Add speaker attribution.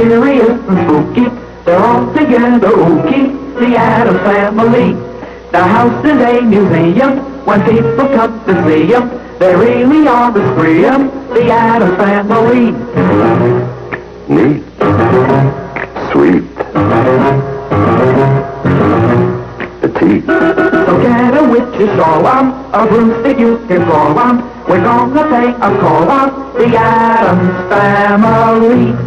Speaker 1: mysterious and spooky. They're all together ooky, the Addams Family. The house is a museum when people come to see 'em. They really are the spree 'em, the Addams Family.
Speaker 2: Neat. Sweet. Petite.
Speaker 1: So get a witch's shawl on, a broomstick you can crawl on. We're gonna pay a call on the Addams Family.